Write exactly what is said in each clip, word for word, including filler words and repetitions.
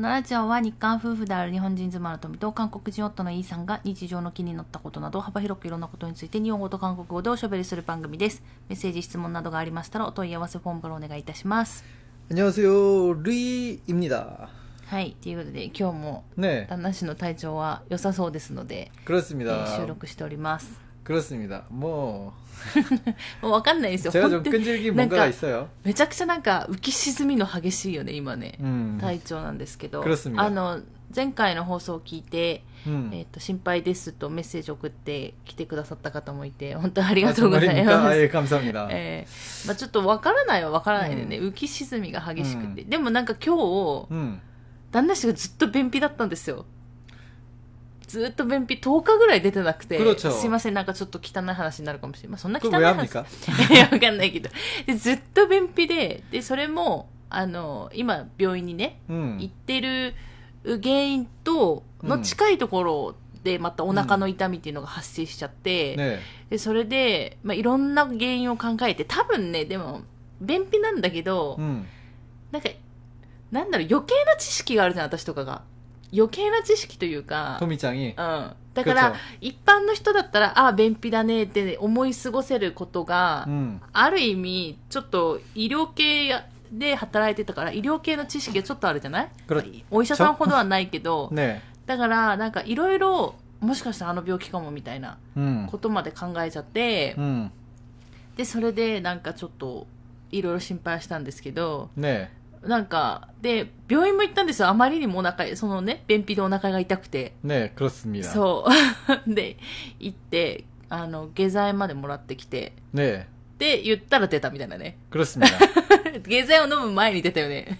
のラジオは日韓夫婦である日本人妻の富と韓国人夫のイーさんが日常の気になったことなど幅広くいろんなことについて日本語と韓国語でおしゃべりする番組です。メッセージ質問などがありましたらお問い合わせフォームからお願いいたします。 안녕하세요 루이입니다。 はい、ということで今日も旦那氏の体調は良さそうですので、 그렇습니다。 えー収録しております。 그렇습니다。もうもう分かんないですよ。 제가 좀 끈질긴 뭔가가 있어요。 めちゃくちゃなんか浮き沈みの激しいよね今ね、 うん、 体調なんですけど、 그렇습니다。 あの前回の放送を聞いて、 うん、 えー、と心配ですとメッセージを送ってきてくださった方もいて本当にありがとうございます。 えー、감사합니다。 えーまあ、ちょっと分からないは分からないでね、うん、浮き沈みが激しくて、うん、でもなんか今日、うん、旦那氏がずっと便秘だったんですよ。ずっと便秘とおかぐらい出てなくて、すいませんなんかちょっと汚い話になるかもしれない、まあ、そんな汚い話いや分かんないけど、でずっと便秘で、でそれもあの今病院にね、うん、行ってる原因との近いところでまたお腹の痛みっていうのが発生しちゃって、うんね、でそれで、まあ、いろんな原因を考えて、多分ねでも便秘なんだけど、うん、なんかなんだろう余計な知識があるじゃん私とかが。余計な知識というか、 トミちゃんに、 うん、だから一般の人だったらああ便秘だねって思い過ごせることが、うん、ある意味ちょっと医療系で働いてたから医療系の知識がちょっとあるじゃない。お医者さんほどはないけど、ね、だからなんかいろいろもしかしたらあの病気かもみたいなことまで考えちゃって、うん、でそれでなんかちょっといろいろ心配したんですけど、ね、なんかで病院も行ったんですよ。あまりにもお腹そのね便秘でお腹が痛くてね、그렇습니다。 そうで行ってあの下剤までもらってきてねで言ったら出たみたいなね。 그렇습니다。 下剤を飲む前に出たよね。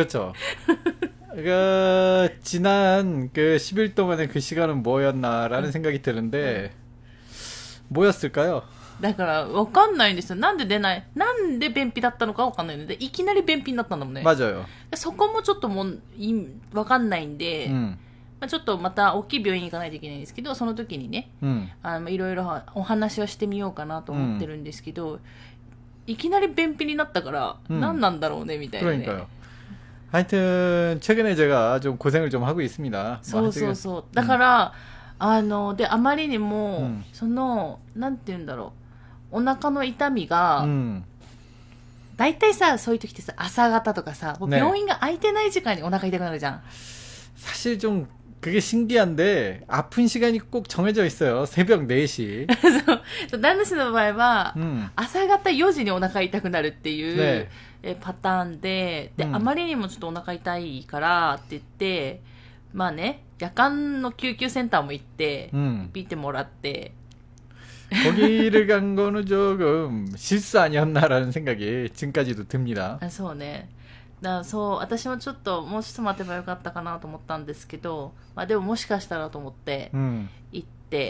그렇죠。그 지난 그 십 일 동안의 그 시간은 뭐였나라는 생각이 드는데 뭐였을까요? だから分かんないんですよ。なんで出ない、なんで便秘だったのか分かんないので、いきなり便秘になったんだもんね。맞아요。そこもちょっともう分かんないんで、うん、まあ、ちょっとまた大きい病院に行かないといけないんですけど、その時にね、うん、あのいろいろお話はしてみようかなと思ってるんですけど、うん、いきなり便秘になったから、うん、何なんだろうねみたいなね。하여튼 최근에 제가 좀 고생을 좀 하고 있습니다。 そうそうそう。だから、うん、あのであまりにも、うん、そのなんて言うんだろう。お腹の痛みが、うん、だいたいさそういう時ってさ朝方とかさもう病院が空いてない時間にお腹痛くなるじゃん。 사실 좀 그게 신기한데 아픈 시간이 꼭 정해져 있어요. 새벽 네 시。 そう旦那氏の場合は、うん、朝方よじにお腹痛くなるっていう、ね、えパターンで、で、うん、あまりにもちょっとお腹痛いからって言ってまあね夜間の救急センターも行って、うん、見てもらって。 거기를 간 거는 조금 실수 아니었나라는 생각이 지금까지도 듭니다. あ、そうね。だそう私もちょっともうちょっと待てばよかったかなと思ったんですけど、まあでももしかしたらと思って行って、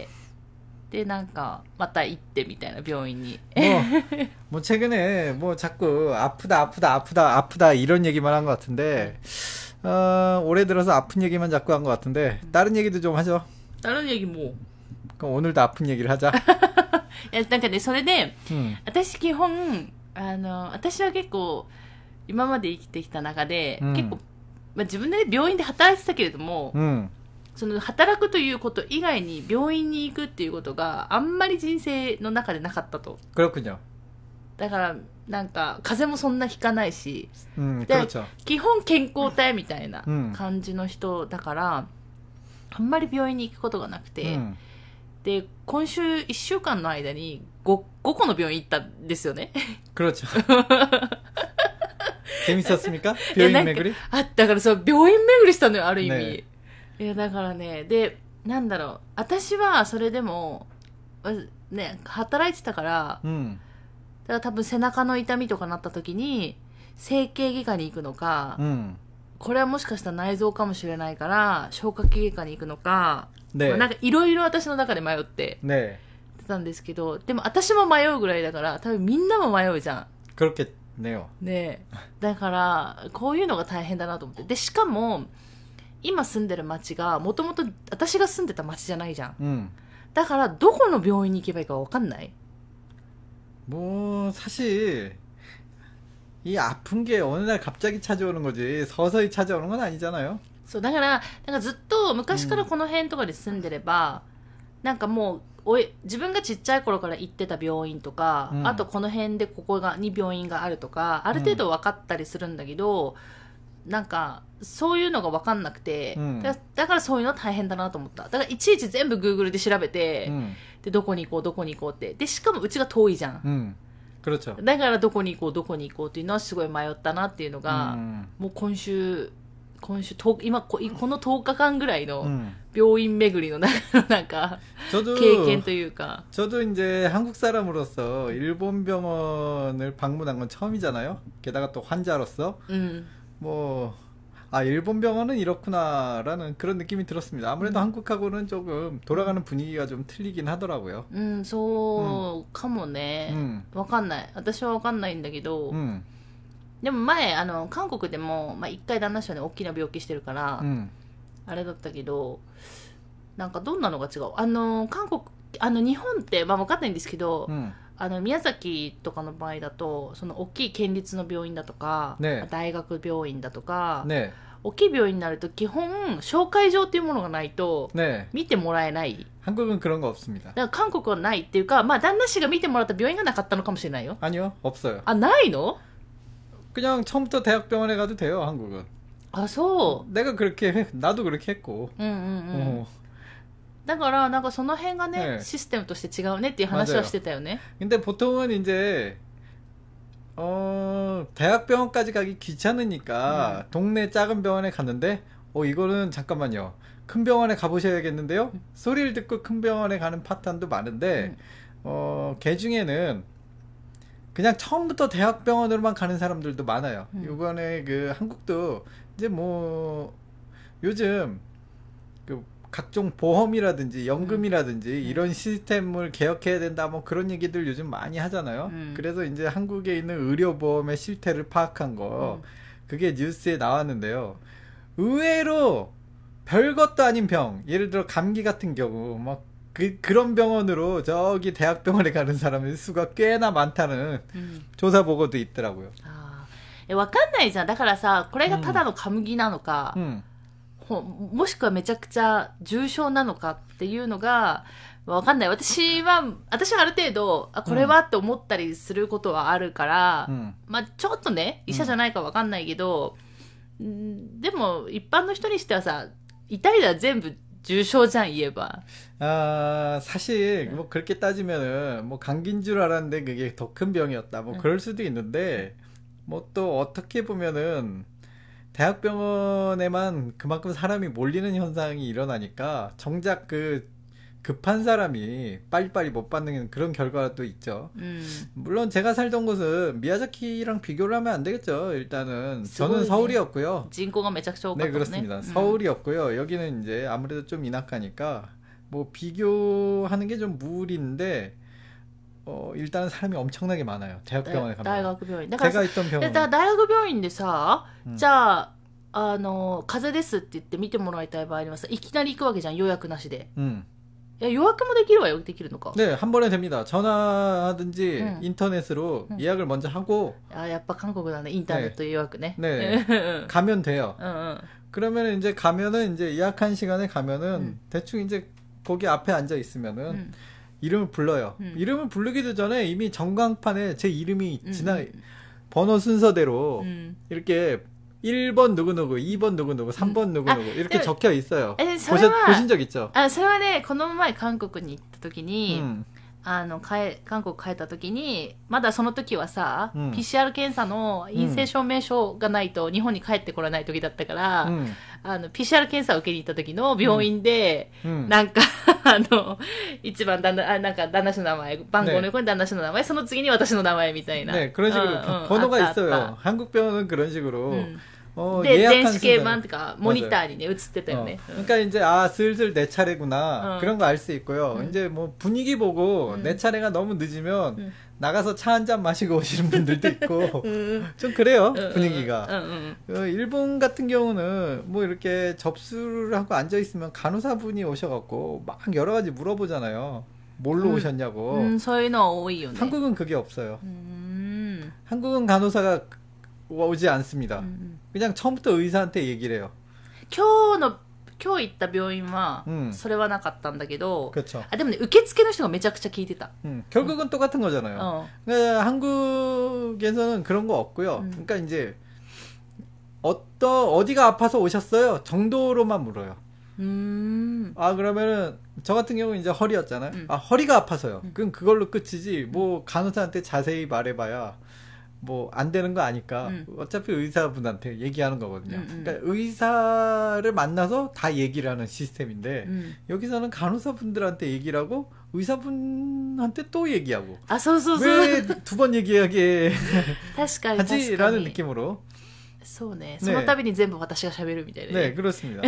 うん、でなんかまた行ってみたいな病院に。 뭐, 뭐 최근에 뭐 자꾸 아프다 아프다 아프다 아프다 이런 얘기만 한 것 같은데, 어, 올해 들어서 아픈 얘기만 자꾸 한 것 같은데 다른 얘기도 좀 하죠. 다른 얘기 뭐? 그럼 오늘도 아픈 얘기를 하자. いやなんかねそれで、うん、私基本あの私は結構今まで生きてきた中で、うん、結構、まあ、自分で、ね、病院で働いてたけれども、うん、その働くということ以外に病院に行くっていうことがあんまり人生の中でなかったと。 그렇군요。 だからなんか風邪もそんなひかないし、 うん、 で基本健康体みたいな感じの人だから、あんまり病院に行くことがなくて、うん、で今週いっしゅうかんの間に 5, 5個の病院行ったんですよね。 그렇죠。재밌었습니까?病院巡り？ あ、だからそう病院巡りしたのよある意味。ね、いやだからねでなんだろう私はそれでもね働いてたから、うん、だから多分背中の痛みとかなった時に整形外科に行くのか、うん、これはもしかしたら内臓かもしれないから消化器外科に行くのか。ね、なんかいろいろ私の中で迷ってたんですけど、ね、でも私も迷うぐらいだから多分みんなも迷うじゃん。 그렇겠네요。 ね、だからこういうのが大変だなと思って。でしかも今住んでる町がもともと私が住んでた町じゃないじゃん、うん、だからどこの病院に行けばいいか分かんない。 뭐 사실 이 아픈 게 어느 날 갑자기 찾아오는 거지 서서히 찾아오는 건 아니잖아요. そうだからなんかずっと昔からこの辺とかで住んでれば、うん、なんかもうおい自分がちっちゃい頃から行ってた病院とか、うん、あとこの辺でここがに病院があるとかある程度分かったりするんだけど、うん、なんかそういうのが分かんなくて、うん、だ, だからそういうの大変だなと思った。だからいちいち全部 Google で調べて、うん、でどこに行こうどこに行こうってでしかもうちが遠いじゃん、うんだからどこに行こうどこに行こうっていうのはすごい迷ったなっていうのが、うん、もう今週今週今このとおかかんぐらいの病院巡りのなんか経験というか。 저도 이제 한국 사람으로서 일본 병원을 방문한 건 처음이잖아요. 게다가 또 환자로서 음. 뭐 아 일본 병원은 이렇구나라는 그런 느낌이 들었습니다. 아무래도 음. 한국하고는 조금 돌아가는 분위기가 좀 틀리긴 하더라고요. 음, そうかもね。わかんない。私はわかんないんだけど。うん。でも前あの韓国でもまあ一回旦那さんね大きな病気してるから、うん、あれだったけどなんかどんなのが違う。あの韓国あの日本ってまあ分かんないんですけど、うん、あの宮崎とかの場合だとその大きい県立の病院だとか、ね、大学病院だとか、ね、大きい病院になると基本紹介状っていうものがないと見てもらえない。 한국은 그런 거 없습니다. だから韓国はないっていうか、まあ旦那氏が見てもらった病院がなかったのかもしれないよ。 아니요, 없어요. あ、ないの? 그냥 처음부터 대학병원에 가도 돼요, 한국은. 아, 소. 내가 그렇게 해, 나도 그렇게 했고. 응, 응, 응. 어. だからなんかその辺がね、システムとして違うねっていう話はしてたよね。 근데 보통은 이제 어, 대학병원까지 가기 귀찮으니까 음. 동네 작은 병원에 갔는데 어 이거는 잠깐만요. 큰 병원에 가보셔야겠는데요. 음. 소리를 듣고 큰 병원에 가는 파탄도 많은데 음. 어, 개 중에는 그냥 처음부터 대학병원으로만 가는 사람들도 많아요. 음. 이번에 그 한국도 이제 뭐 요즘 그 각종 보험이라든지 연금이라든지 음. 이런 시스템을 개혁해야 된다 뭐 그런 얘기들 요즘 많이 하잖아요. 음. 그래서 이제 한국에 있는 의료보험의 실태를 파악한 거 음. 그게 뉴스에 나왔는데요. 의외로 별것도 아닌 병, 예를 들어 감기 같은 경우 막 그, 그런 병원으로 저기 대학병원에 가는 사람의 수가 꽤나 많다는 음. 조사 보고도 있더라고요. 아, わかんないじゃん。だからさ、これがただの감기なのか、 음. もしくはめちゃくちゃ重症なのかっていうのがわかんない。私は、私はある程度、あ、これはって思ったりすることはあるから、うん、まあちょっとね、医者じゃないかわかんないけど、うん、でも一般の人にしてはさ、痛いのは全部重症じゃん言えば。 아, 사실 뭐 그렇게 따지면은 뭐 감기인 줄 알았는데 그게 더 큰 병이었다. 뭐 그럴 수도 있는데 뭐 또 어떻게 보면은 대학병원에만 그만큼 사람이 몰리는 현상이 일어나니까 정작 그 급한 사람이 빨리빨리 못 받는 그런 결과도 있죠. 음. 물론 제가 살던 곳은 미야자키랑 비교를 하면 안 되겠죠. 일단은 저는 서울이었고요. 인구가 매작쇼 네, 그렇습니다. 음. 서울이었고요. 여기는 이제 아무래도 좀 인하가니까 뭐 비교하는 게 좀 무리인데 어, 일단은 사람이 엄청나게 많아요. 대학병원에 가면. 대학병원. 제가 있던 병원. 대학병원인데 さ, 음. じゃあ、あの、風邪ですって言って見てもらいたい場合にはさ、いきなり行くわけじゃん、予約なしで。 음. 야, 요약도できるわよ. できるのか? 네, 한 번에 됩니다. 전화하든지 응. 인터넷으로 응. 예약을 먼저 하고. 아, 약간 한국은 인터넷 네. 예약네. 네. 가면 돼요. 응, 응. 그러면 이제 가면은 이제 예약한 시간에 가면은 응. 대충 이제 거기 앞에 앉아 있으면은 응. 이름을 불러요. 응. 이름을 부르기도 전에 이미 전광판에 제 이름이 응. 지나 번호 순서대로 응. 이렇게 일 번 누구누구, 이 번 누구누구, 삼 번 누구누구 아, 이렇게 네. 적혀 있어요. 보시, 보신 적 있죠? 아, それはね、この前韓国に行った時に、 음. あの、韓国帰った時に、まだその時はさ、うん、ピーシーアール 検査の陰性証明書がないと日本に帰ってこれない時だったから、うん、あの、ピーシーアール 検査を受けに行った時の病院で、うん、なんか、あの、一番旦那、あ、なんか旦那氏の名前、番号の横に旦那氏の名前、その次に私の名前みたいな。 ね、그런 식으로 번호가 있어요. 한국 병원은 그런 식으로. 음. 어, 네,電子系版 그러니까 모니터에 네, 映ってたよね. 어, 그러니까 이제 아 슬슬 내 차례구나 어. 그런 거 알 수 있고요. 음. 이제 뭐 분위기 보고 음. 내 차례가 너무 늦으면 음. 나가서 차 한 잔 마시고 오시는 분들도 있고 음. 좀 그래요 분위기가. 음. 음. 어, 일본 같은 경우는 뭐 이렇게 접수를 하고 앉아 있으면 간호사분이 오셔갖고 막 여러 가지 물어보잖아요. 뭘로 음. 오셨냐고. 음, 저희는 오이요. 한국은 그게 없어요. 음. 한국은 간호사가 오지 않습니다. 음. 그냥 처음부터 의사한테 얘기를 해요. 今日の今日行った病院はそれはなかったんだけど、 うん、 あでもね受付の人がめちゃくちゃ聞いてた。 うん、결국은 똑같은 거잖아요. 어. 그러니까 한국에서는 그런 거 없고요. 음. 그러니까 이제 어떤 어디가 아파서 오셨어요 정도로만 물어요. 음. 아 그러면은 저 같은 경우 이제 허리였잖아요. 음. 아 허리가 아파서요. 음. 그럼 그걸로 끝이지. 뭐 간호사한테 자세히 말해봐야 뭐 안 되는 거 아니까. 음. 어차피 의사분한테 얘기하는 거거든요. 음, 음. 그러니까 의사를 만나서 다 얘기를 하는 시스템인데 음. 여기서는 간호사분들한테 얘기를 하고 의사분한테 또 얘기하고. 아, 소소소. 왜 두 번 얘기하게 하지라는 느낌으로. そうね。その度に全部私が喋るみたいな。 네, 그렇습니다.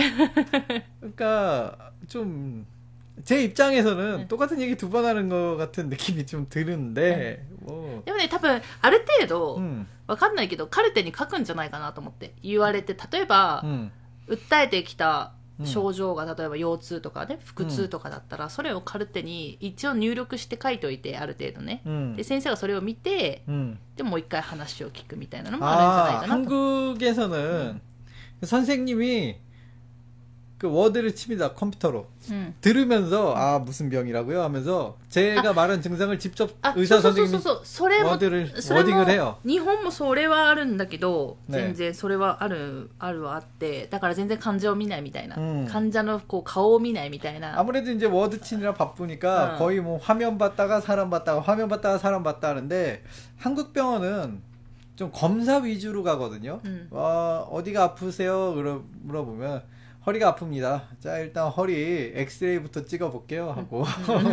그러니까 좀 제 입장에서는 네. 똑같은 얘기 두 번 하는 것 같은 느낌이 좀 드는데. 네. 뭐. でもね、多分ある程度わかんないけどカルテに書くんじゃないかなと思って言われて、例えば、うん、訴えてきた症状が例えば腰痛とかね、腹痛とかだったら、それをカルテに一応入力して書いておいて、ある程度ね、うん、で先生がそれを見て、うん、でもう一回話を聞くみたいなのもあるんじゃないかなと。 한국에서는 선생님이 그 워드를 칩니다. 컴퓨터로. 음. 들으면서 아 무슨 병이라고요? 하면서 제가 아, 말한 증상을 직접 아, 의사 선생님이 워드를 워딩을 해요. 일본도 それはあるんだけど 全然それはあるあるはあって、だから全然患者を見ないみたいな、 음. 患者のこう顔を見ないみたいな. 아무래도 이제 워드 치느라 바쁘니까 어. 거의 뭐 화면 봤다가 사람 봤다가 화면 봤다가 사람 봤다 하는데, 한국 병원은 좀 검사 위주로 가거든요. 음. 어, 어디가 아프세요? 물어보면 허리가 아픕니다. 자, 일단 허리 엑스레이부터 찍어볼게요 하고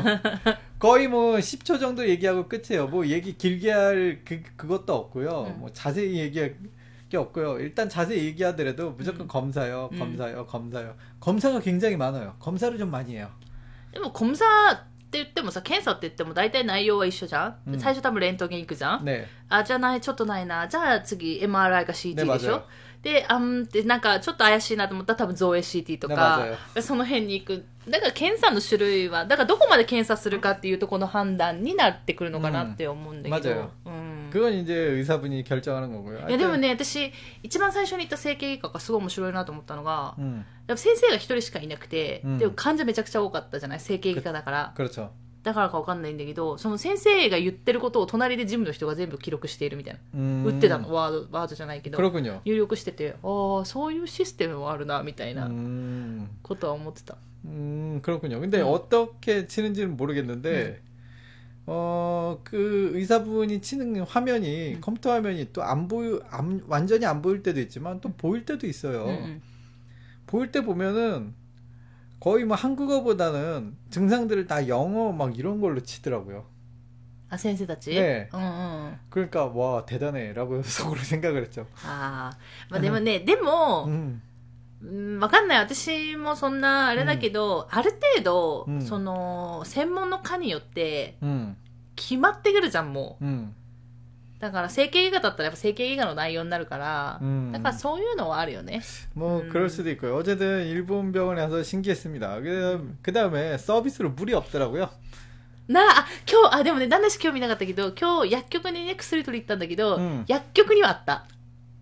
거의 뭐 십 초 정도 얘기하고 끝이에요. 뭐 얘기 길게 할 그, 그것도 없고요. 음. 뭐 자세히 얘기할 게 없고요. 일단 자세히 얘기하더라도 무조건 음. 검사요, 검사요, 음. 검사요. 검사가 굉장히 많아요. 검사를 좀 많이 해요. 뭐 검사 って言ってもさ、検査って言っても大体内容は一緒じゃん、うん、最初多分レントゲン行くじゃん、ね、あ、じゃあない、ちょっとないな、じゃあ次 エムアールアイ か シーティー でしょ、ね、で、あんってなんかちょっと怪しいなと思ったら多分造影 シーティー とか、ね、その辺に行く。だから検査の種類は、だからどこまで検査するかっていうところの判断になってくるのかなって思うんだけど。 맞아요. 음. 그건 이제 의사분이 결정하는 거고요. いやでもね、私一番最初に行った整形外科がすごい面白いなと思ったのが、うん、先生が一人しかいなくて、うん、でも患者めちゃくちゃ多かったじゃない、整形外科だから。 그렇죠。 だからかわかんないんだけど、その先生が言ってることを隣でジムの人が全部記録しているみたいな。打ってたの、ワード、ワードじゃないけど。入力してて、ああ、そういうシステムもあるな、みたいなことは思ってた。 음, 그렇군요. 근데 음. 어떻게 치는지는 모르겠는데, 음. 어, 그 의사분이 치는 화면이, 음. 컴퓨터 화면이 또 안 보여, 안, 완전히 안 보일 때도 있지만 또 보일 때도 있어요. 음. 보일 때 보면은 거의 뭐 한국어보다는 증상들을 다 영어 막 이런 걸로 치더라고요. 아, 선생님たち? 네. 응, 응. 그러니까, 와, 대단해. 라고 속으로 생각을 했죠. 아, まあでもね、でも、 음. わかんない。私もそんなあれだけど、うん、ある程度、うん、その専門の科によって決まってくるじゃん、もう、うん、だから整形外科だったらやっぱ整形外科の内容になるから、うん、だからそういうのはあるよね。 뭐 그럴 수도 있고요. 어쨌든 일본 병원에 가서 신기했습니다. 그 다음에 서비스로 물이 없더라고요. なあ、今日、あ、でもね、なんだし興味なかったけど、今日薬局にね、薬取り行ったんだけど、うん、薬局にはあった。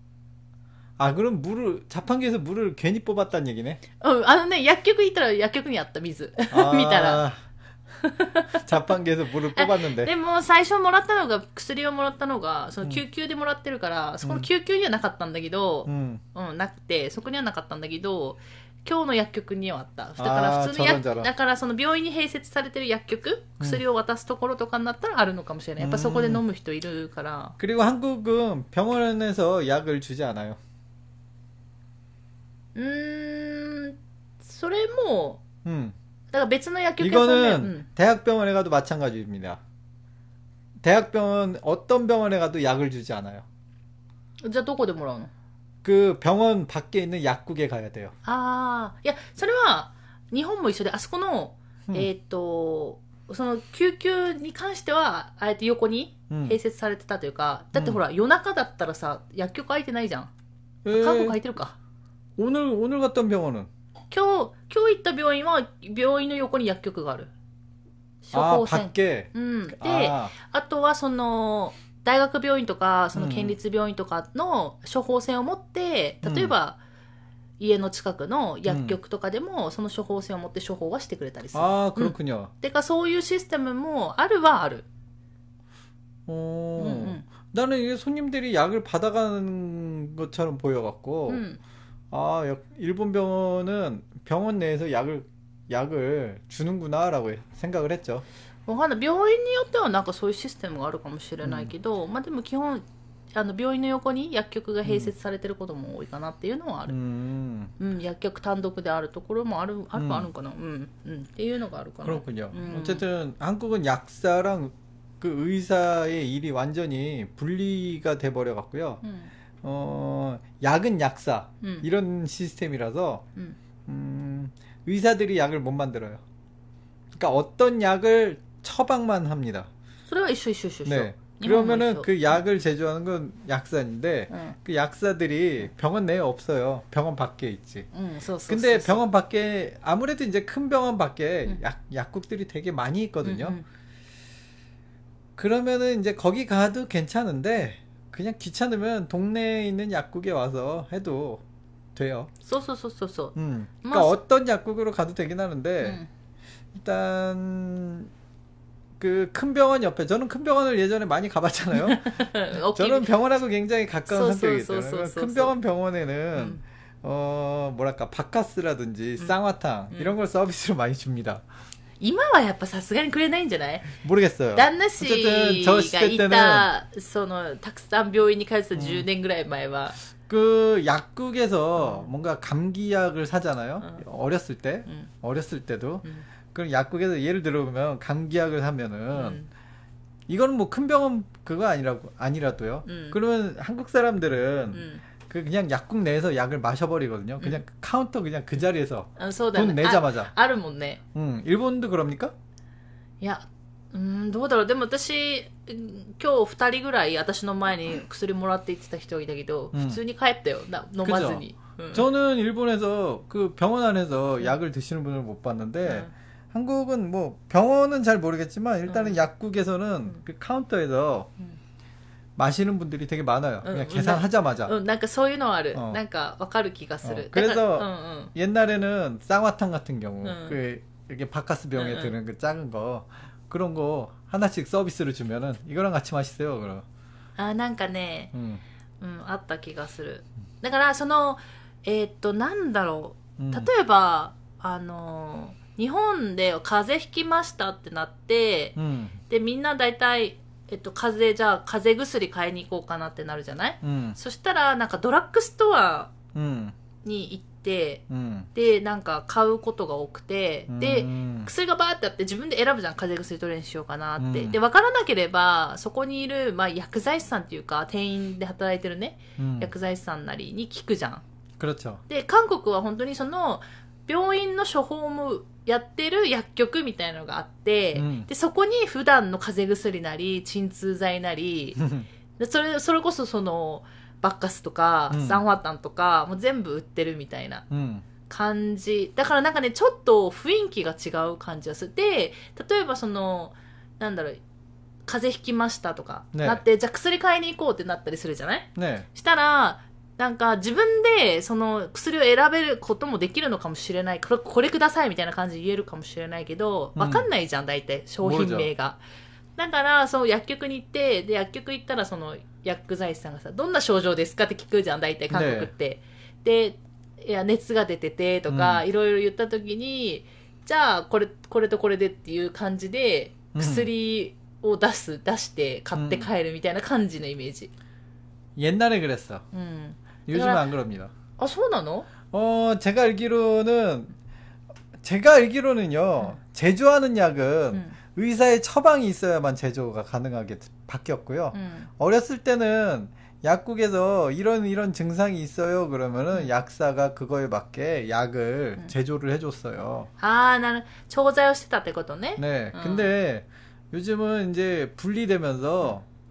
아, 그럼 물을, 자판기에서 물을 괜히 뽑았다는 얘기네? 어, 아, 네, 약국에 있더라, 약국에 왔다, 미즈. 아, 미타라. 자판기에서 물을 뽑았는데. でも最初もらったのが、薬をもらったのが、その救急でもらってるから、そこの救急にはなかったんだけど、うん、うん、なくて、そこにはなかったんだけど、今日の薬局にはあった。だから普通の薬、だからその病院に併設されてる薬局、薬を渡すところとかになったらあるのかもしれない。やっぱそこで飲む人いるから。 그리고 한국은 병원에서 약을 주지 않아요. うーん、それも、 음. だから別の薬局 이거는 음. 대학병원에 가도 마찬가지입니다. 대학병원 어떤 병원에 가도 약을 주지 않아요. じゃあどこでもらうの? 그 병원 밖에 있는 약국에 가야 돼요. 아, いや、それは日本も一緒で、あそこの、うん、えっと、その救急に関してはあえて横に併設されてたというか、うん、だってほら、夜中だったらさ、薬局開いてないじゃん。看護開いてるか。 오늘, 오늘 갔던 병원은? 今日、今日行った病院は病院の横に薬局がある。処方箋。 아, 밖에? うん。で、あ, あとはその、大学病院とか、その県立病院とかの処方箋を持って、例えば、 家の近くの薬局とかでも、その処方箋を持って処方はしてくれたりする。 ああ、그렇군요。 てかそういうシステムもあるはある。 어、 うん나는 이게 손님들이 약을 받아가는 것처럼 보여갖고, 음. 아, 일본 병원은 병원 내에서 약을, 약을 주는구나라고 생각을 했죠. わかんない。病院によってはなんかそういうシステムがあるかもしれないけど、まあでも基本、あの病院の横に薬局が併設されてることも多いかなっていうのはある。うん、うん、薬局単独であるところもある、あるあるかな。うん、うん、っていうのがあるかな。 그렇군요。어쨌든 한국은 약사랑 그 의사의 일이 완전히 분리가 돼 버려 갖고요. 음. 어, 약은 약사 음. 이런 시스템이라서 음. 음, 의사들이 약을 못 만들어요. 그러니까 어떤 약을 처방만 합니다. 네. 그러면은 그 약을 제조하는 건 약사인데 응. 그 약사들이 병원 내에 없어요. 병원 밖에 있지. 응, 써, 써, 근데 써, 써. 병원 밖에 아무래도 이제 큰 병원 밖에 응. 약 약국들이 되게 많이 있거든요. 응, 응. 그러면은 이제 거기 가도 괜찮은데 그냥 귀찮으면 동네에 있는 약국에 와서 해도 돼요. 쏘쏘쏘쏘쏘. 음. 그러니까 뭐, 어떤 약국으로 가도 되긴 하는데 음. 일단 그 큰 병원 옆에 저는 큰 병원을 예전에 많이 가봤잖아요. 저는 병원하고 굉장히 가까운 성격이기 때문에 큰 병원 병원에는 음. 어 뭐랄까 바카스라든지 음. 쌍화탕 음. 이런 걸 서비스로 많이 줍니다. 今はやっぱさすがにくれないんじゃない？ 모르겠어요. 旦那氏がいたそのたくさん病院に通ってたじゅうねんぐらい前は 그 약국에서 음. 뭔가 감기약을 사잖아요. 음. 어렸을 때, 음. 어렸을 때도 음. 그럼 약국에서 예를 들어보면 감기약을 사면은 음. 이거는 뭐 큰 병원 그거 아니라고 아니라도요. 음. 그러면 한국 사람들은 음. 그 그냥 약국 내에서 약을 마셔버리거든요. 그냥 음. 카운터 그냥 그 자리에서 아, 돈 내자마자. 아, あるもんね. 응, 일본도 그럽니까? いや、うーん、どうだろう。でも私、今日二人ぐらい私の前に薬もらって行ってた人がいたけど、음. 普通に帰ったよ。な飲まずに。 응. 저는 일본에서 그 병원 안에서 응. 약을 드시는 분을 못 봤는데 응. 한국은 뭐 병원은 잘 모르겠지만 일단은 응. 약국에서는 응. 그 카운터에서 응. 마시는 분들이 되게 많아요. 그냥 응, 계산하자마자. 응, 뭔가 そういうのある. 어. 뭔가 わかる気がする. 어, 그래서 응, 응. 옛날에는 쌍화탕 같은 경우 응. 그 이렇게 바카스 병에 응, 드는 그 작은 거 그런 거 하나씩 서비스로 주면은 이거랑 같이 마시세요. 그럼. 아, なんかね, 응. うん、あった気がする。だからそのえー、っとなんだろう。例えば、うん、あの日本で風邪ひきましたってなって、うん、でみんな大体えっと、風邪、じゃあ、風邪薬買いに行こうかなってなるじゃない、うん、そしたら、なんかドラッグストアに行って、うん、で、なんか買うことが多くて、うん、で、薬がバーってあって自分で選ぶじゃん。風邪薬どれにしようかなって。うん、で、わからなければ、そこにいる、まあ、薬剤師さんっていうか、店員で働いてるね、うん、薬剤師さんなりに聞くじゃん。で、韓国は本当にその、病院の処方もやってる薬局みたいなのがあって、うん、でそこに普段の風邪薬なり鎮痛剤なりでそれそれこそそのバッカスとか、うん、サンファタンとかもう全部売ってるみたいな感じ、うん、だからなんかねちょっと雰囲気が違う感じがする。で例えばそのなんだろう風邪ひきましたとか、ね、なってじゃあ薬買いに行こうってなったりするじゃない、ね、したらなんか自分でその薬を選べることもできるのかもしれない。これ、これくださいみたいな感じで言えるかもしれないけど、わかんないじゃん、大体、商品名が。だから、その薬局に行って、で、薬局行ったらその薬剤師さんがさ、どんな症状ですかって聞くじゃん、大体韓国って。で、いや、熱が出ててとか、いろいろ言った時に、じゃあ、これ、これとこれでっていう感じで、薬を出す、出して買って帰るみたいな感じのイメージ。 옛날에 그랬어. 음. 요즘은 안 그럽니다. 아, 소나노? 어, 제가 알기로는, 제가 알기로는요, 음. 제조하는 약은 음. 의사의 처방이 있어야만 제조가 가능하게 바뀌었고요. 음. 어렸을 때는 약국에서 이런 이런 증상이 있어요. 그러면은 음. 약사가 그거에 맞게 약을 음. 제조를 해줬어요. 아, 나는 조자요 시다 때 것도네. 네. 음. 근데 요즘은 이제 분리되면서 음.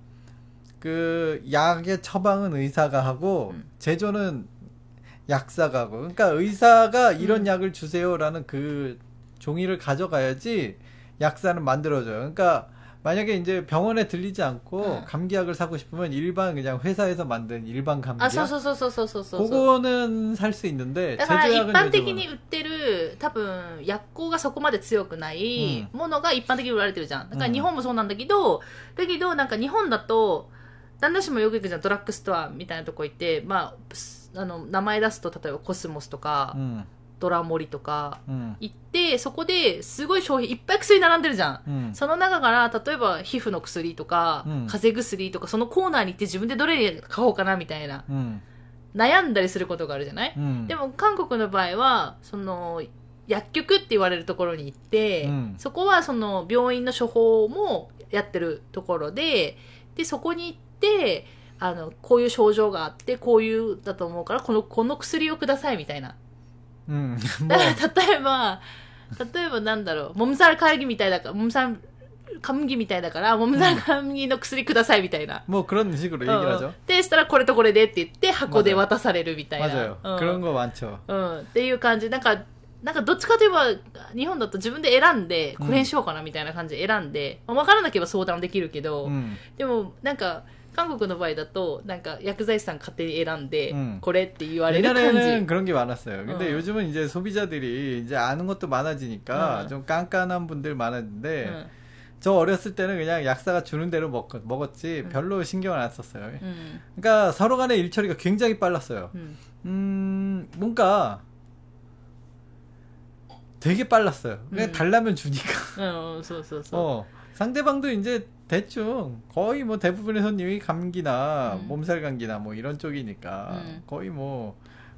그 약의 처방은 의사가 하고 음. 제조는 약사가 하고 그러니까 의사가 이런 음. 약을 주세요라는 그 종이를 가져가야지 약사는 만들어줘요. 그러니까 만약에 이제 병원에 들리지 않고 응. 감기약을 사고 싶으면 일반 그냥 회사에서 만든 일반 감기약. 아, そうそうそうそうそうそう。 그거는 살 수 있는데 だから一般的に売ってる多分薬効がそこまで強くないものが一般的に売られてるじゃん。だから日本もそうなんだけど、だけどなんか日本だと旦那氏もよく行くじゃん、ドラッグストアみたいなとこ行って、まああの名前出すと例えばコスモスとか。うん、ドラモリとか行って、うん、そこですごい商品いっぱい薬並んでるじゃん、うん、その中から例えば皮膚の薬とか、うん、風邪薬とかそのコーナーに行って自分でどれ買おうかなみたいな、うん、悩んだりすることがあるじゃない、うん、でも韓国の場合はその薬局って言われるところに行って、うん、そこはその病院の処方もやってるところで、でそこに行ってあのこういう症状があってこういうだと思うからこのこの薬をくださいみたいな。うん、だから例えば例えばなんだろう、몸살감기みたいだから、몸살 감기みたいだから、몸살 감기の薬くださいみたいな。 もう그런 식으로 얘기를 하죠。 でしたらこれとこれでって言って箱で渡されるみたいな。 맞아요。그런 거 많죠。 うん、っていう感じ。なんかなんかどっちかといえば日本だと自分で選んでこれにしようかなみたいな感じで選んで、うん、分からなければ相談できるけど、うん、でもなんか。韓国の場合だとなんか薬剤師さん勝手に選んでこれって言われる感じ。 옛날에는 그런 게 많았어요. 근데 음. 요즘은 이제 소비자들이 이제 아는 것도 많아지니까 음. 좀 깐깐한 분들 많았는데 음. 저 어렸을 때는 그냥 약사가 주는 대로 먹, 먹었지 음. 별로 신경을 안 썼어요. 음. 그러니까 서로 간의 일처리가 굉장히 빨랐어요. 음, 음 뭔가 되게 빨랐어요. 그냥 음. 달라면 주니까. 어, 소, 소, 소. 어, 상대방도 이제 대충 거의 뭐 대부분의 손님이 감기나 음. 몸살 감기나 뭐 이런 쪽이니까 음. 거의 뭐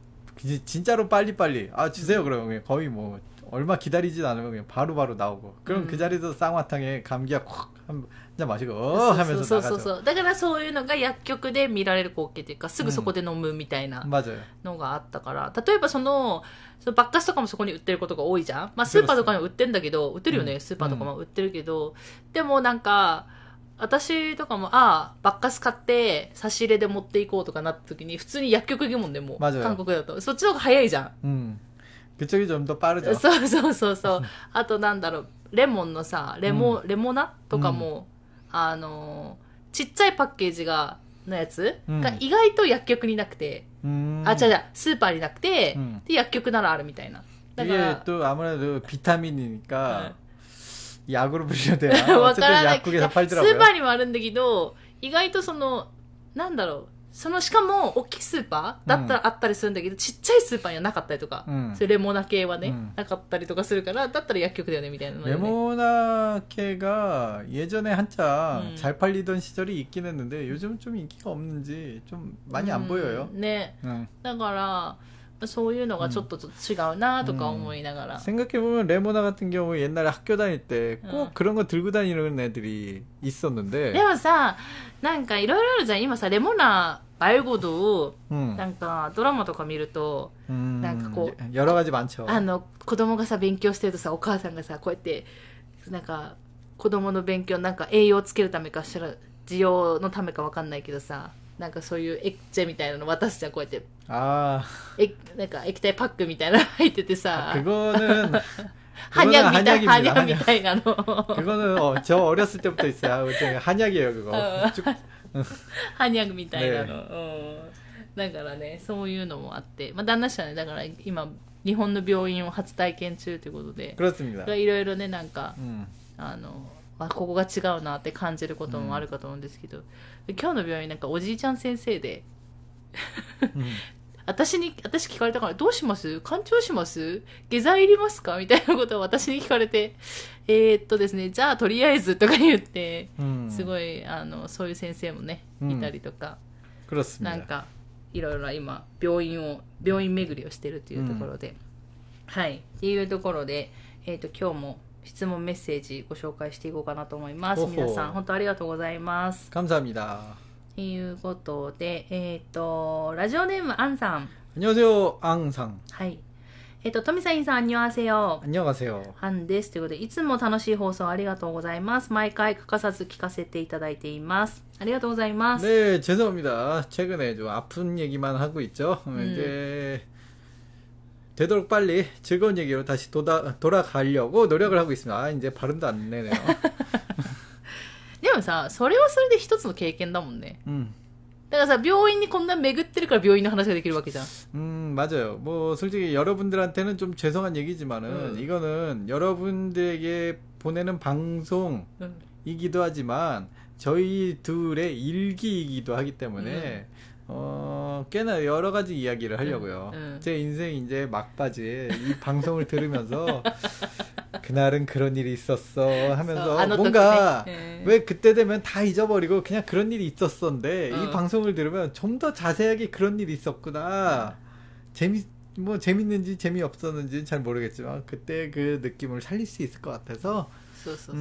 진짜로 빨리빨리 아 주세요. 음. 그러면 거의 뭐 얼마 기다리지도 않으면 그냥 바로바로 나오고 그럼 음. 그 자리에서 쌍화탕에 감기약 콱 한 잔 마시고 어 하면서 そうそうそう。だからそういうのが薬局で見られる光景というかすぐそこで飲むみたいなのがあったから、例えばそのそのバッカスとかもそこに売ってることが多いじゃん。まあスーパーとかにも売ってんだけど、売ってるよね、スーパーとかも売ってるけど、でもなんか私とかも、ああ、バッカス買って差し入れで持っていこうとかなった時に普通に薬局行くもんでも韓国だとそっちの方が早いじゃん。うん。 그쪽이 좀 더 빠르죠. そうそうそうそう。あとなんだろう、レモンのさ、レモ、うん、レモナとかも、うん、あのちっちゃいパッケージがのやつが意外と薬局になくて、うん、あ、違う違う、スーパーになくて、うん、で薬局ならあるみたいな。 だから。또 아무래도 비타민이니까 약으로 불려야 되나? 어쨌든 약국에 다 팔더라고요. スーパーにもあるんだけど、意外とそのなんだろう。そのしかも大きいスーパーだったらあったりするんだけど、うん、ちっちゃいスーパーにはなかったりとか、うん、それレモナ系はね、うん、なかったりとかするからだったら薬局だよねみたいなの、ね、 レモナ系が예전에 한참 음. 잘 팔리던 시절이 있긴 했는데 요즘은 좀 인기가 없는지 좀 많이 안 보여요. ね、だからそういうのがちょっと違うなとか思いながら、 음. 생각해보면 레모나 같은 경우 옛날에 학교 다닐 때 꼭 음. 그런 거 들고 다니는 애들이 있었는데 でもさ、なんかいろいろあるじゃん。今さレモナ말고도 음. なんかドラマとか見ると、 음. なんかこう 여러 가지 많죠. あの子供がさ勉強してるとさ、お母さんがさこうやってなんか子供の勉強なんか栄養をつけるためかしら需要のためかわかんないけどさ、なんかそういうエッチェみたいなの渡すじゃん、こうやって。ああ。え、なんか液体パックみたいなの入っててさ。 그거는 한약みたいな、한약みたいなの。 그거는 어, 저 어렸을 때부터 있어요. 한약이에요, 그거. 한약みたいなの。だからね、そういうのもあって、まあ旦那氏はね、だから今日本の病院を初体験中ということで、 그렇습니다. いろいろねなんか、うん、あの。あ、ここが違うなって感じることもあるかと思うんですけど、うん、今日の病院なんかおじいちゃん先生で、うん、私に私聞かれたからどうします？肝腸します？下剤いりますか？みたいなことを私に聞かれて、えー、っとですね、じゃあとりあえずとか言って、うん、すごいあのそういう先生もねいたりとか、 うん、 なんかいろいろ今病院を病院巡りをしてるというところで、うん、はいっていうところで、えー、っと今日も質問メッセージご紹介していこうかなと思います。皆さん本当ありがとうございます。 감사합니다。 ということで、えっ、ー、とラジオネームアンさん。 안녕하세요、アンさん。 はい。えっ、ー、とトミサインさん、안녕하세요。 안녕하세요。 アンです。ということで、いつも楽しい放送ありがとうございます。毎回欠かさず聞かせていただいています。ありがとうございます。 ね、죄송합니다。최근에 좀 아픈 얘기만 하고 있죠。うん、이제 되도록 빨리 즐거운 얘기로 다시 도다, 돌아가려고 노력을 하고 있습니다. 아, 이제 발음도 안 내네요. でもさ、それはそれで一つの経験だもんね。うん。だからさ、病院にこんな巡ってるから病院の話ができるわけじゃん。 음, 맞아요. 뭐 솔직히 여러분들한테는 좀 죄송한 얘기지만은 음. 이거는 여러분들에게 보내는 방송이기도 하지만 저희 둘의 일기이기도 하기 때문에 음. 어, 꽤나 여러 가지 이야기를 하려고요. 음, 음. 제 인생 이제 막바지에 이 방송을 들으면서 그날은 그런 일이 있었어 하면서 뭔가 네. 왜 그때 되면 다 잊어버리고 그냥 그런 일이 있었었는데 어. 이 방송을 들으면 좀 더 자세하게 그런 일이 있었구나. 어. 재미 뭐 재밌는지 재미없었는지 잘 모르겠지만 그때 그 느낌을 살릴 수 있을 것 같아서 そうそうそう、うん、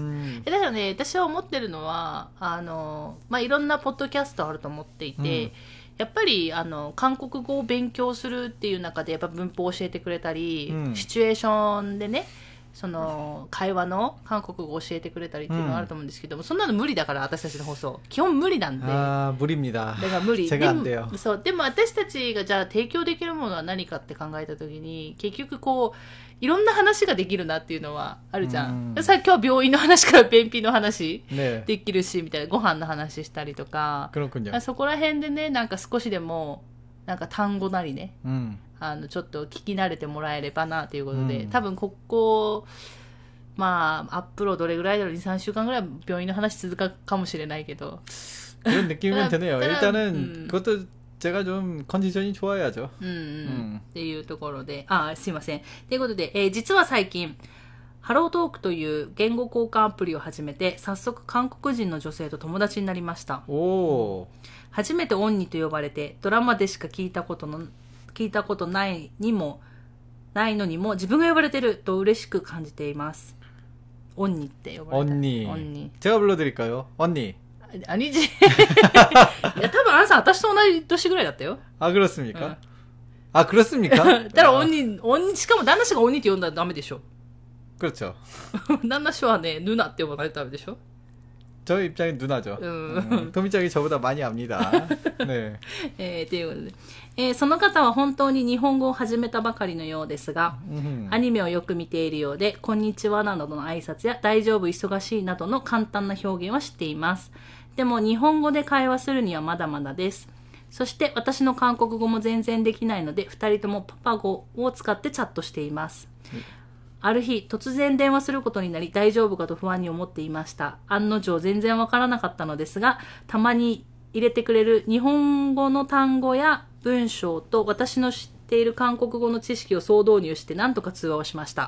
だからね、私は思ってるのはあの、まあ、いろんなポッドキャストあると思っていて、うん、やっぱりあの韓国語を勉強するっていう中でやっぱ文法を教えてくれたり、うん、シチュエーションでね、その会話の韓国語を教えてくれたりっていうのがあると思うんですけども、うん、そんなの無理だから私たちの放送基本無理なんで。 あー無理입니다。 だから無理。でもそう、でも私たちがじゃあ提供できるものは何かって考えたときに結局こういろんな話ができるなっていうのはあるじゃん。うん、さ今日病院の話から便秘の話できるし、ね、みたいなご飯の話したりとか、そこら辺でねなんか少しでもなんか単語なりね、うん、あのちょっと聞き慣れてもらえればなということで、うん、多分ここまあアップロードどれぐらいだろうにさんしゅうかんぐらい病院の話続くかもしれないけど 그런 느낌은 드네요. 일단은 음. 그것도 제가 좀 컨디션이 좋아야죠. 음, 음. っていうところで、あ、すいません。ということで、えー、実は最近ハロートークという言語交換アプリを始めて早速韓国人の女性と友達になりました。おー。初めてオンニと呼ばれてドラマでしか聞いたことの聞いたことないにもないのにも自分が呼ばれてると嬉しく感じています。オンニって呼ばれてる。 언니。언니。제가불러드릴까요？언니。 アニジいや多分あんさん私と同じ年ぐらいだったよ。 あ、그렇습니까？うん、あ、그렇습니까？ だから언니、언니、しかも旦那氏が언니って呼んだらダメでしょ。 그렇죠。 旦那氏はね、ヌナって呼ばないとダメでしょ。 저 입장엔 누나죠. 음. 도미짱이 저보다 많이 압니다. 네. えー、ということで、えー、その方は本当に日本語を始めたばかりのようですが、アニメをよく見ているようで、こんにちはなどの挨拶や大丈夫忙しいなどの簡単な表現は知っています。でも日本語で会話するにはまだまだです。そして私の韓国語も全然できないので、二人ともパパ語を使ってチャットしています。うんある日、突然電話することになり大丈夫かと不安に思っていました。案の定全然わからなかったのですが、たまに入れてくれる日本語の単語や文章と私の知っている韓国語の知識を総導入して何とか通話をしました。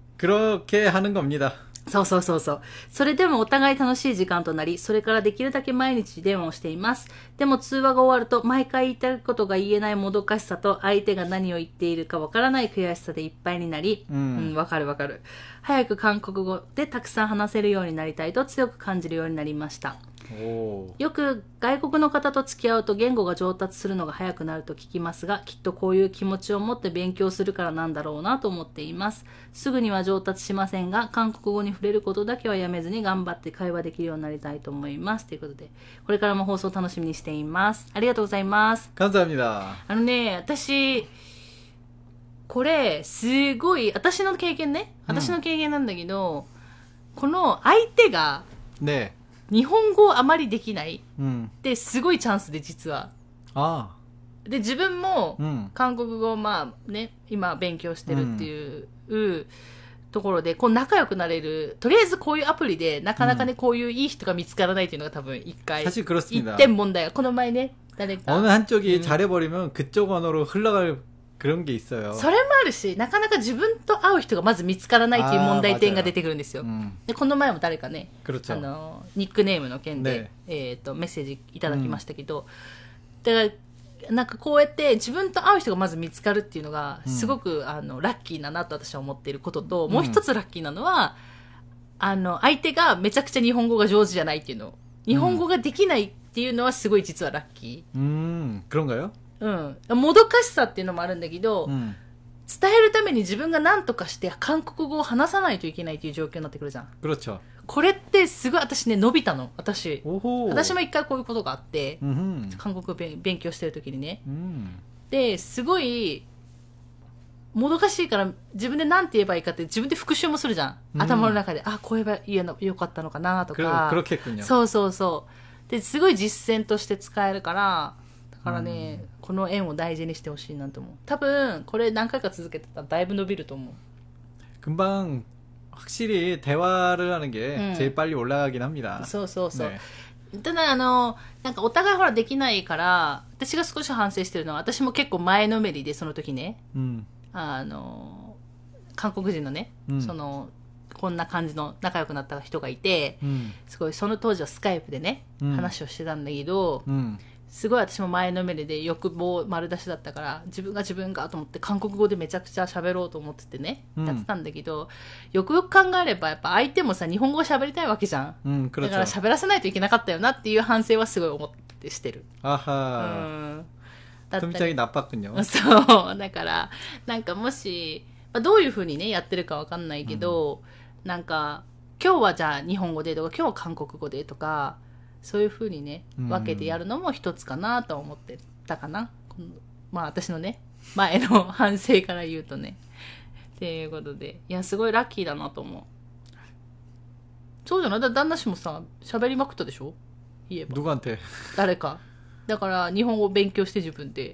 그렇게 하는 겁니다。 そうそうそうそう。それでもお互い楽しい時間となり、それからできるだけ毎日電話をしています。でも通話が終わると、毎回言いたいことが言えないもどかしさと、相手が何を言っているかわからない悔しさでいっぱいになり、うん、わ、うん、かるわかる。早く韓国語でたくさん話せるようになりたいと強く感じるようになりました。よく外国の方と付き合うと言語が上達するのが早くなると聞きますが、きっとこういう気持ちを持って勉強するからなんだろうなと思っています。すぐには上達しませんが、韓国語に触れることだけはやめずに頑張って会話できるようになりたいと思います。ということで、これからも放送楽しみにしています。ありがとうございます。 감사합니다。 あのね、私これすごい私の経験ね、私の経験なんだけど、うん、この相手がね。日本語をあまりできないってすごいチャンスで実は、うん、ああで自分も韓国語をまあね今勉強してるっていう、うん、ところでこう仲良くなれるとりあえずこういうアプリでなかなかね、うん、こういういい人が見つからないっていうのが多分一回一点問題がこの前ね誰か 어느 한쪽이 잘해버리면 그쪽 언어로 흘러갈 그런 게 있어요. それもあるし、なかなか自分と会う人がまず見つからないっていう問題点が出てくるんですよ。でこの前も誰かね、あのニックネームの件で、ねえー、とメッセージいただきましたけど、うん、だからなんかこうやって自分と会う人がまず見つかるっていうのがすごく、うん、あのラッキーだなと私は思っていることと、もう一つラッキーなのは、うん、あの相手がめちゃくちゃ日本語が上手じゃないっていうの、日本語ができないっていうのはすごい実はラッキー。 うん、그런가요？ うん、もどかしさっていうのもあるんだけど、うん、伝えるために自分が何とかして韓国語を話さないといけないという状況になってくるじゃん。これってすごい私ね伸びたの。私私も一回こういうことがあって、うん、韓国語勉強してる時にね、うん、ですごいもどかしいから自分で何て言えばいいかって自分で復習もするじゃん。うん、頭の中で、あ、こう言えばよかったのかなとか。そうそうそう。で、すごい実践として使えるから、だからね、うん、この縁を大事にしてほしいなと思う。多分、これ何回か続けてたらだいぶ伸びると思う。 금방 확실히 대화를 하는 게 음. 제일 빨리 올라가긴 합니다. そうそうそう。ね、ただあのなんかお互いほらできないから私が少し反省してるのは私も結構前のめりでその時ね、うん、あの韓国人のね、うん、そのこんな感じの仲良くなった人がいて、うん、すごいその当時はスカイプでね、うん、話をしてたんだけど、うん、すごい私も前のめりで欲望丸出しだったから自分が自分がと思って韓国語でめちゃくちゃ喋ろうと思っててね、うん、やってたんだけどよくよく考えればやっぱ相手もさ日本語を喋りたいわけじゃん、うん、だから喋らせないといけなかったよなっていう反省はすごい思ってしてる。あは、うん、だったり나빴군요。そうだからなんかもし、まあ、どういう風にねやってるかわかんないけど、うん、なんか今日はじゃあ日本語でとか今日は韓国語でとかそういう風にね分けてやるのも一つかなと思ってたかな、うん、まあ私のね前の反省から言うとねっていうことでいやすごいラッキーだなと思う。そうじゃないだ旦那氏もさ喋りまくったでしょ言えば 누구한테 誰かだから日本語を勉強して自分で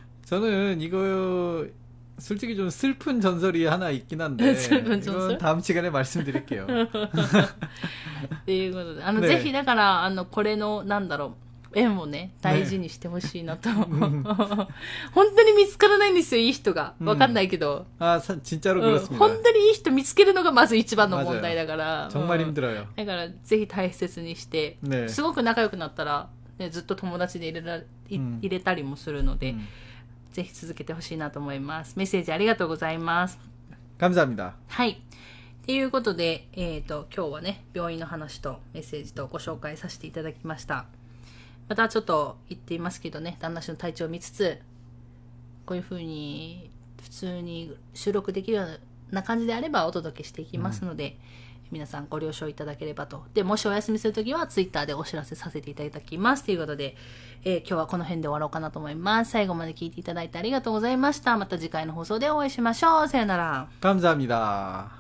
저는이거 솔직히 좀 슬픈 전설이 하나 있긴 한데 슬픈 전설? 이건 다음 시간에 말씀드릴게요. っていうことであの、ね、ぜひだからあのこれのなんだろう縁をね大事にしてほしいなと、ね、本当に見つからないんですよいい人がわかんないけど、 うん、あ진짜로 그렇습니다、うん、 本当にいい人見つけるのがまず一番の問題だから 정말힘들어요、 うん、だからぜひ大切にして、ね、すごく仲良くなったら、ね、ずっと友達で入れら、うん、入れたりもするので、うんぜひ続けてほしいなと思います。メッセージありがとうございます。 감사합니다。 はい。ということで、えっと、今日はね、病院の話とメッセージとご紹介させていただきました。またちょっと言っていますけどね、旦那氏の体調を見つつ、こういう風に普通に収録できるような感じであればお届けしていきますので、うん皆さんご了承いただければと。で、もしお休みするときはツイッターでお知らせさせていただきます。ということで、えー、今日はこの辺で終わろうかなと思います。最後まで聞いていただいてありがとうございました。また次回の放送でお会いしましょう。さよなら。 감사합니다。